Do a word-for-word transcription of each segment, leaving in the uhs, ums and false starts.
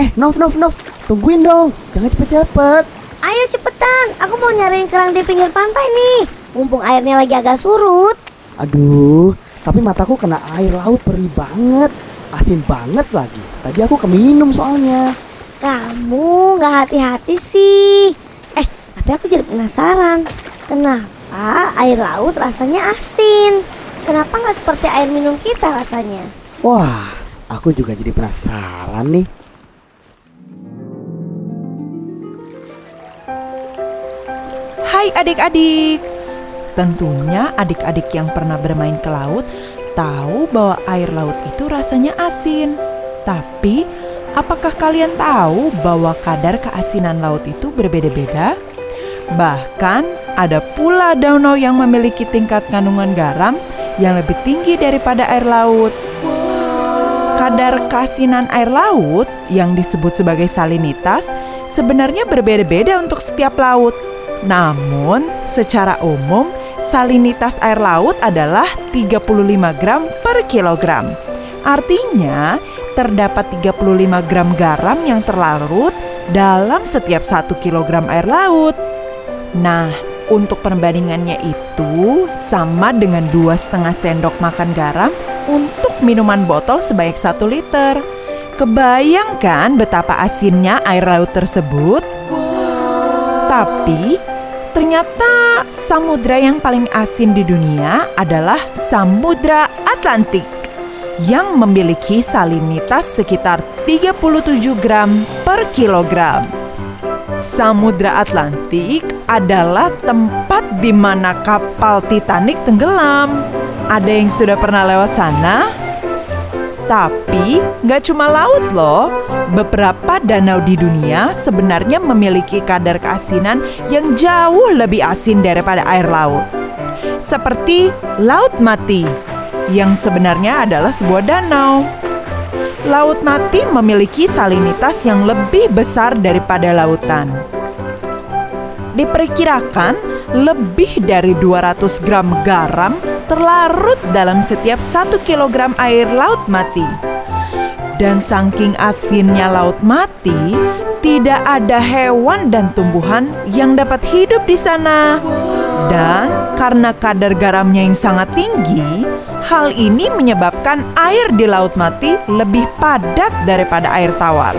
Eh, Nov, Nov, Nov, tungguin dong, jangan cepet-cepet. Ayo cepetan, aku mau nyariin kerang di pinggir pantai nih. Mumpung airnya lagi agak surut. Aduh, tapi mataku kena air laut perih banget. Asin banget lagi. Tadi aku keminum soalnya. Kamu gak hati-hati sih. Eh, tapi aku jadi penasaran. Kenapa air laut rasanya asin? Kenapa gak seperti air minum kita rasanya? Wah, aku juga jadi penasaran nih. Hai adik-adik. Tentunya adik-adik yang pernah bermain ke laut tahu bahwa air laut itu rasanya asin. Tapi, apakah kalian tahu bahwa kadar keasinan laut itu berbeda-beda? Bahkan, ada pula danau yang memiliki tingkat kandungan garam yang lebih tinggi daripada air laut. Kadar keasinan air laut yang disebut sebagai salinitas sebenarnya berbeda-beda untuk setiap laut. Namun, secara umum, salinitas air laut adalah tiga puluh lima gram per kilogram. Artinya, terdapat tiga puluh lima gram garam yang terlarut dalam setiap satu kilogram air laut. Nah, untuk perbandingannya itu sama dengan dua setengah sendok makan garam untuk minuman botol sebanyak satu liter. Kebayangkan betapa asinnya air laut tersebut? Tapi, ternyata samudra yang paling asin di dunia adalah Samudra Atlantik yang memiliki salinitas sekitar tiga puluh tujuh gram per kilogram. Samudra Atlantik adalah tempat di mana kapal Titanic tenggelam. Ada yang sudah pernah lewat sana? Tapi nggak cuma laut loh, beberapa danau di dunia sebenarnya memiliki kadar keasinan yang jauh lebih asin daripada air laut. Seperti Laut Mati, yang sebenarnya adalah sebuah danau. Laut Mati memiliki salinitas yang lebih besar daripada lautan. Diperkirakan lebih dari dua ratus gram garam terlarut dalam setiap satu kilogram air Laut Mati. Dan saking asinnya Laut Mati, tidak ada hewan dan tumbuhan yang dapat hidup di sana. Dan karena kadar garamnya yang sangat tinggi, hal ini menyebabkan air di Laut Mati lebih padat daripada air tawar.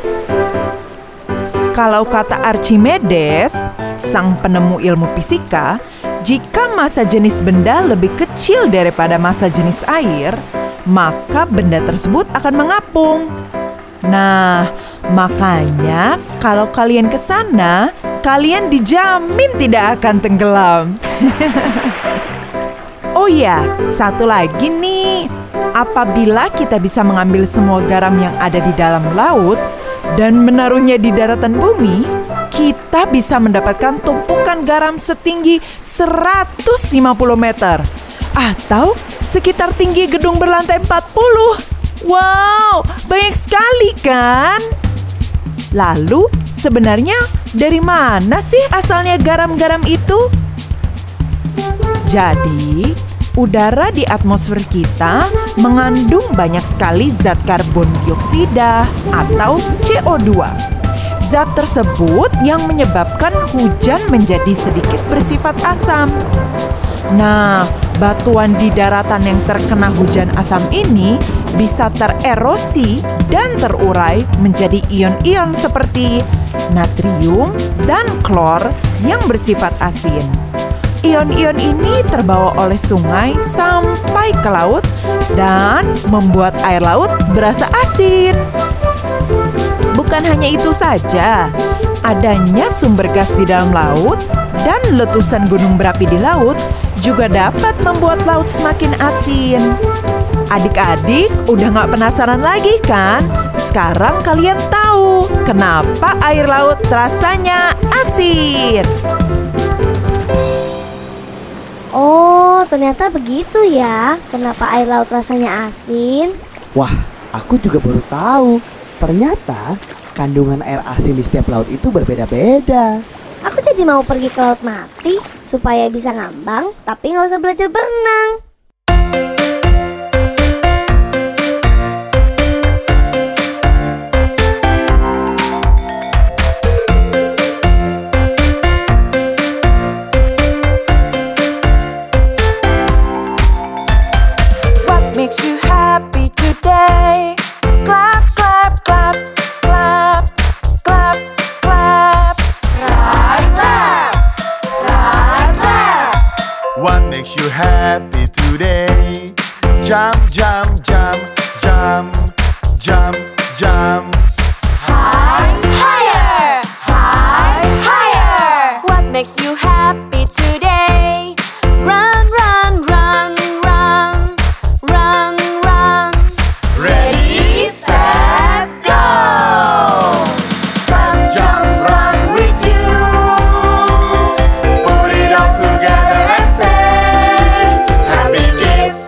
Kalau kata Archimedes, sang penemu ilmu fisika, jika massa jenis benda lebih kecil daripada massa jenis air, maka benda tersebut akan mengapung. Nah, makanya kalau kalian ke sana, kalian dijamin tidak akan tenggelam. Oh ya, satu lagi nih. Apabila kita bisa mengambil semua garam yang ada di dalam laut dan menaruhnya di daratan bumi, kita bisa mendapatkan tumpukan garam setinggi seratus lima puluh meter atau sekitar tinggi gedung berlantai empat puluh. Wow, banyak sekali kan? Lalu, sebenarnya dari mana sih asalnya garam-garam itu? Jadi, udara di atmosfer kita mengandung banyak sekali zat karbon dioksida atau C O dua. Zat tersebut yang menyebabkan hujan menjadi sedikit bersifat asam. Nah, batuan di daratan yang terkena hujan asam ini bisa tererosi dan terurai menjadi ion-ion seperti natrium dan klor yang bersifat asin. Ion-ion ini terbawa oleh sungai sampai ke laut dan membuat air laut berasa asin. Bukan hanya itu saja, adanya sumber gas di dalam laut dan letusan gunung berapi di laut juga dapat membuat laut semakin asin. Adik-adik udah gak penasaran lagi kan? Sekarang kalian tahu kenapa air laut rasanya asin. Oh, ternyata begitu ya. Kenapa air laut rasanya asin? Wah, aku juga baru tahu. Ternyata kandungan air asin di setiap laut itu berbeda-beda. Aku jadi mau pergi ke Laut Mati supaya bisa ngambang, tapi gak usah belajar berenang. makes you happy today? Jump, jump, jump, jump, jump, jump. High, higher, high, higher. What makes you happy today? Run, run, run, run, run, run. Ready, set, go. Jump, jump, run with you. Put it all together and say, happy kids.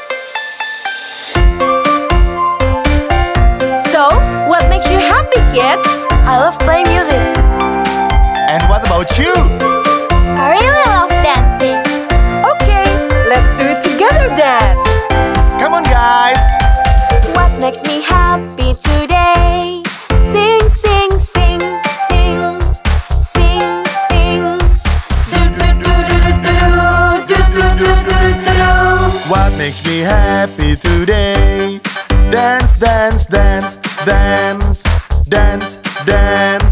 So, what makes you happy, kids? I love playing music. And what about you? I really love dancing. Okay, let's do it together then. Come on, guys. What makes me happy today? Sing, sing, sing, sing, sing, sing. Do do do do do do do do do do do do do. What makes me happy today? Dance, dance, dance, dance, dance, dance.